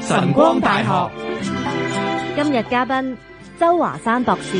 晨光大學今日嘉賓周華山博士。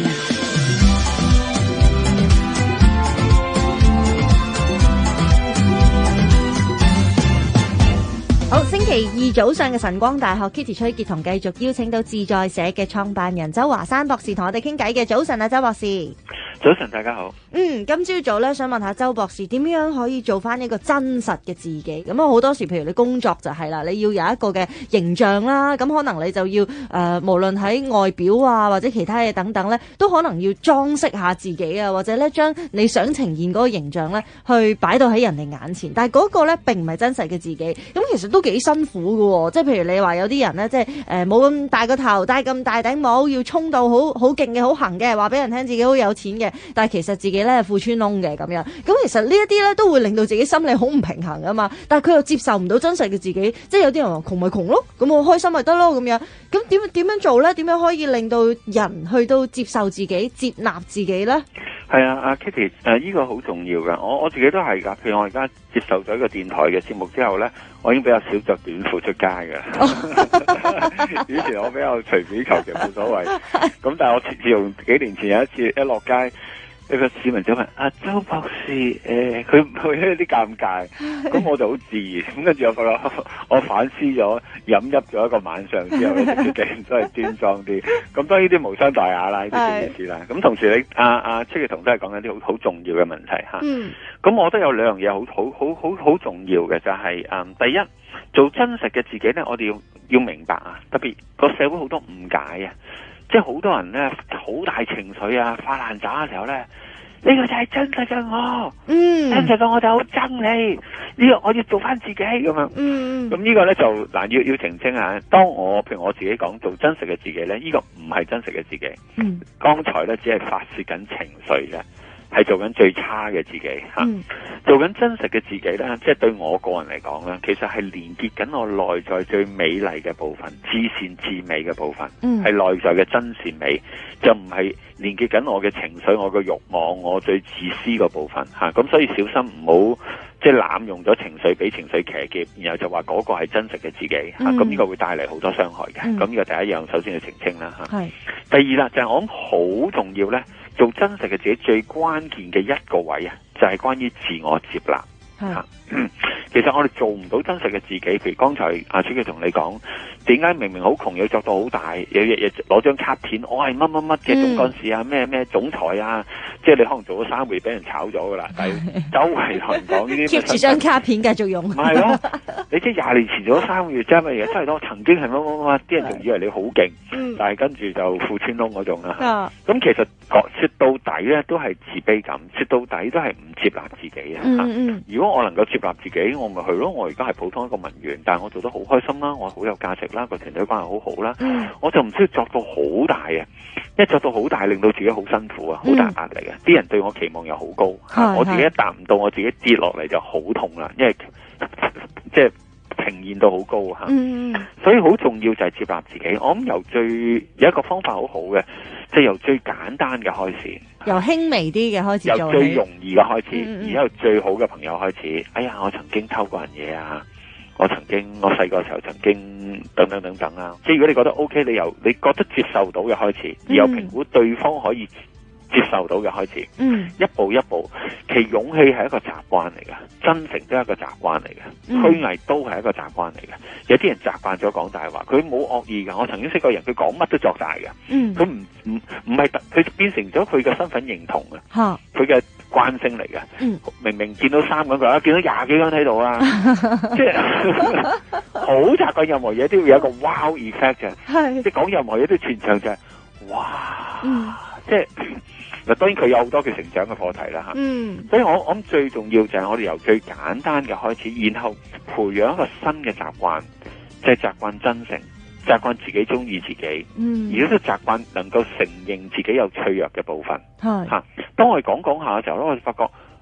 好，星期二早上嘅晨光大學 Kitty 崔潔彤繼續邀請到自在社嘅創辦人周華山博士同我哋傾偈嘅。早晨啊，周博士。 早晨，大家好。 今朝早咧，想問下周博士點樣可以做翻呢個真實嘅自己？咁啊，好多時譬如你工作就係啦，你要有一個嘅形象啦，咁可能你就要無論喺外表啊或者其他嘢等等咧，都可能要裝飾下自己啊，或者咧將你想呈現嗰個形象咧，去擺到喺人哋眼前。但係嗰個咧並唔係真實嘅自己，咁其實都幾辛苦㗎喎。即係譬如你話有啲人咧，即係冇咁大個頭，戴咁大頂帽，要衝到好勁嘅、好行嘅，話俾人聽自己好有錢嘅。但係其實自己咧係褲穿窿嘅咁樣，咁其實呢一啲咧都會令到自己心理好唔平衡啊嘛。但係佢又接受唔到真實嘅自己，即係有啲人話窮咪窮咯，咁我開心咪得咯咁樣。咁點樣做咧？點樣可以令到人去到接受自己、接納自己咧？ 係啊，阿 Kitty， 呢個好重要噶。我自己都係噶。譬如我而家接受咗一個電台嘅節目之後咧，我已經比較少着短褲出街噶。以前我比較隨便求其冇所謂，咁但係我自從幾年前有一次一落街，一個市民就問阿周博士，佢會有啲尷尬，咁我就好自然，咁跟住我反思咗，飲泣咗一個晚上之後咧，決定都係端莊啲。咁當然呢啲無傷大雅啦，呢啲意思啦。咁同時你阿崔潔彤都係講緊啲好重要嘅問題嚇。咁我覺得有兩樣嘢好重要嘅就係第一，做真實嘅自己咧，我哋要明白啊，特別個社會好多誤解啊。即係好多人咧，好大情緒啊，發爛渣嘅時候咧，呢個就係真實嘅我，真實嘅我就好憎你，呢個我要做翻自己咁樣。咁呢個咧就嗱要澄清啊。當譬如我自己講做真實嘅自己咧，呢個唔係真實嘅自己。剛才咧只係發洩緊情緒嘅，係做緊最差嘅自己吓。做緊真實嘅自己咧，即係對我個人嚟講咧，其實係連結緊我內在最美麗嘅部分，至善至美嘅部分，係內在嘅真善美，就唔係連結緊我嘅情緒、我嘅慾望、我最自私嘅部分吓。咁所以小心唔好即係濫用咗情緒，俾情緒騎劫，然後就話嗰個係真實嘅自己吓。咁呢個會帶嚟好多傷害嘅。咁呢個第一樣，首先要澄清啦吓。第二啦，就係我諗好重要咧，做真實嘅自己最關鍵嘅一個位啊，就係關於自我接納。其實我哋做唔到真實嘅自己，譬如剛才阿崔潔彤同你講，點解明明好窮要作到好大，有日日攞張卡片，我係乜乜乜嘅總幹事啊，咩總裁啊，即係你可能做咗3個月俾人炒咗噶啦，但係周圍同人講呢啲 keep 住張卡片繼續用。唔係咯，你即係20年前做咗3個月，即係乜嘢？真係我曾經係乜乜乜，啲人仲以為你好勁，但係跟住就褲穿窿嗰種啦。咁其實說到底咧，都係自卑感，說到底都係唔接納自己啊。如果我能夠接納自己，我咪去咯。我而家係普通一個文員，但係我做得好開心啦，我好有價值啦，個團隊關係好好啦，我就唔需要作到好大啊！一作到好大，令到自己好辛苦啊，好大壓力啊！啲人對我期望又好高，我自己一達唔到，我自己跌落嚟就好痛啦，因為即係呈現到好高吓。所以好重要就係接納自己。我諗有一個方法好好嘅，即係由最簡單嘅開始， 由輕微啲嘅開始做起， 由最容易嘅開始，然後最好嘅朋友開始。哎呀，我曾經偷過人嘢啊！我細個時候曾經等等啊！即係如果你覺得 OK，你覺得接受到嘅開始，而又評估對方可以接受到嘅開始，一步一步。其實勇氣係一個習慣嚟嘅，真誠都係一個習慣嚟嘅，虛偽都係一個習慣嚟嘅。有啲人習慣咗講大話，佢冇惡意㗎。我曾經識過人，佢講乜都作大嘅，佢唔係佢變成咗佢嘅身份認同啊，佢嘅慣性嚟嘅。明明見到3個人，見到20幾個人喺度啊，即係好習慣任何嘢都要有一個 wow effect 嘅，即係講任何嘢都全場就係哇，即係。嗱，當然佢有好多嘅成長嘅課題啦嚇，所以我諗最重要就係我哋由最簡單嘅開始，然後培養一個新嘅習慣，即係習慣真誠，習慣自己中意自己，而都習慣能夠承認自己有脆弱嘅部分嚇。當我哋講下嘅時候咧，我哋發覺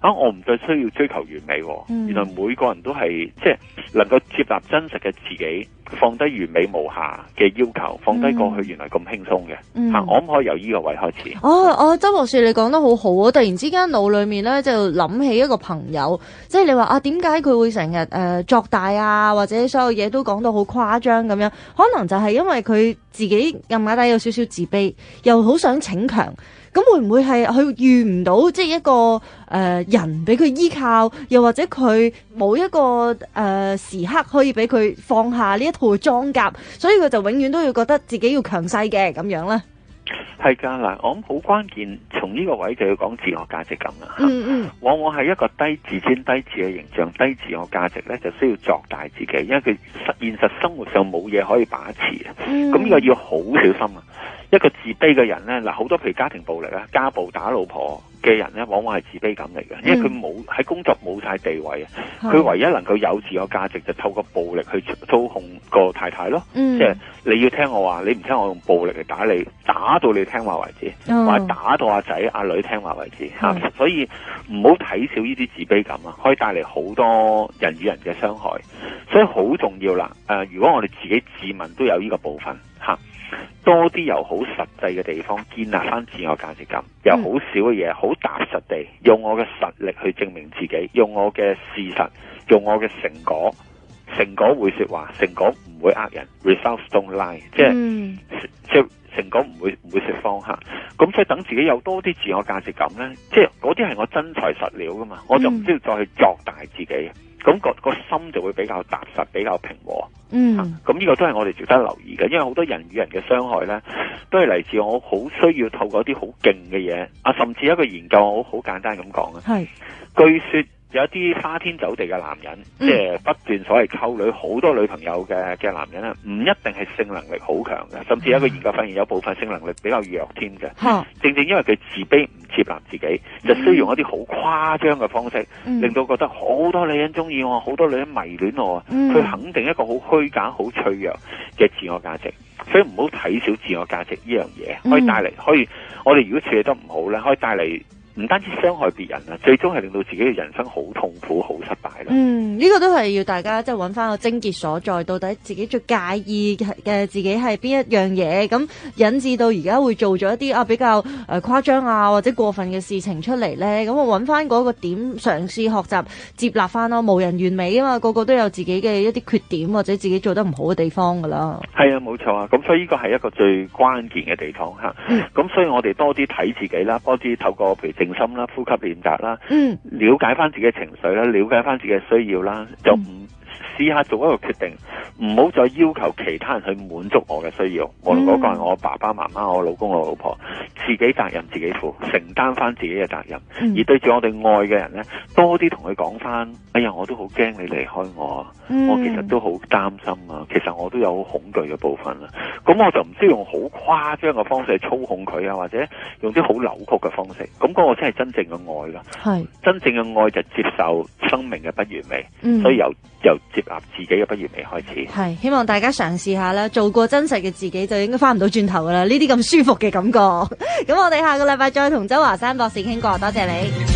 我唔再需要追求完美，原來每個人都係即係能夠接納真實嘅自己，放低完美無瑕嘅要求，放低過去原來咁輕鬆嘅。我唔可以由呢個位開始。 周博士你講得好好啊！突然之間腦裏面咧就諗起一個朋友，即係你話點解佢會成日作大啊，或者所有嘢都講到好誇張咁樣？可能就係因為佢自己暗底有少少自卑，又好想逞強。咁會唔會係佢遇唔到即係一個人俾佢依靠，又或者佢冇一個時刻可以俾佢放下呢一套裝甲，所以佢就永遠都要覺得自己要強勢嘅咁樣咧？ 係㗎嗱，我諗好關鍵，從呢個位就要講自我價值感啦。往往係一個低自尊、低自嘅形象、低自我價值咧，就需要作大自己，因為佢現實生活上冇嘢可以把持啊。咁呢個要好小心啊！一個自卑嘅人咧，嗱好多譬如家庭暴力啊、家暴打老婆嘅人咧，往往係自卑感嚟嘅，因為佢冇喺工作冇晒地位啊，佢唯一能夠有自我價值就透過暴力去操控個太太咯，即係你要聽我話，你唔聽我用暴力嚟打你，打到你聽話為止，或者打到阿仔阿女聽話為止吓，所以唔好睇小呢啲自卑感啊，可以帶嚟好多人與人嘅傷害，所以好重要啦。如果我哋自己自問都有呢個部分吓。多啲由好實際嘅地方建立翻自我價值感，由好少嘅嘢好踏實地用我嘅實力去證明自己，用我嘅事實，用我嘅成果，成果會說話，成果唔會呃人 ，results don't lie， 即係成果唔會說謊吓。咁所以等自己有多啲自我價值感咧，即係嗰啲係我真材實料噶嘛，我就唔需要再去作大自己。咁個心就會比較踏實，比較平和。咁呢個都係我哋值得留意嘅，因為好多人與人嘅傷害咧，都係嚟自我好需要透過一啲好勁嘅嘢甚至一個研究，我好簡單咁講啊。據說有一啲花天酒地嘅男人，即係不斷所謂溝女，好多女朋友嘅男人咧，唔一定係性能力好強嘅，甚至有一個研究發現有部分性能力比較弱添嘅。正正因為佢自卑唔接納自己，就需要用一啲好誇張嘅方式，令到覺得好多女人中意我，好多女人迷戀我，去肯定一個好虛假、好脆弱嘅自我價值。所以唔好睇小自我價值呢樣嘢，可以帶嚟，我哋如果處理得唔好咧，可以帶嚟唔單止傷害別人啊，最終係令到自己嘅人生好痛苦、好失敗啦。呢個都係要大家即係揾翻個症結所在，到底自己最介意嘅自己係邊一樣嘢，咁引致到而家會做咗一啲比較誇張啊或者過分嘅事情出嚟咧。咁我揾翻嗰個點，嘗試學習接納翻咯。無人完美啊嘛，個個都有自己嘅一啲缺點或者自己做得唔好嘅地方噶啦。 係啊，冇錯啊。咁所以呢個係一個最關鍵嘅地方吓。咁所以我哋多啲睇自己啦，多啲透過譬如靜心啦、呼吸練習啦，了解翻自己嘅情緒啦，了解翻自己嘅需要啦，就唔試下做一個決定，唔好再要求其他人去滿足我嘅需要。無論嗰個係我爸爸媽媽、我老公、我老婆，自己責任自己負，承擔翻自己嘅責任。而對住我哋愛嘅人咧，多啲同佢講翻，哎呀，我都好驚你離開我，我其實都好擔心啊，其實我都有好恐懼嘅部分啊。咁我就唔需要用好誇張嘅方式去操控佢啊，或者用啲好扭曲嘅方式。咁嗰個先係真正嘅愛啦。係真正嘅愛就接受生命嘅不完美，所以由接納自己嘅不完美開始。係希望大家嘗試下啦，做過真實嘅自己就應該翻唔到轉頭噶啦。呢啲咁舒服嘅感覺。咁我哋下個禮拜再同周華山博士傾過，多謝你。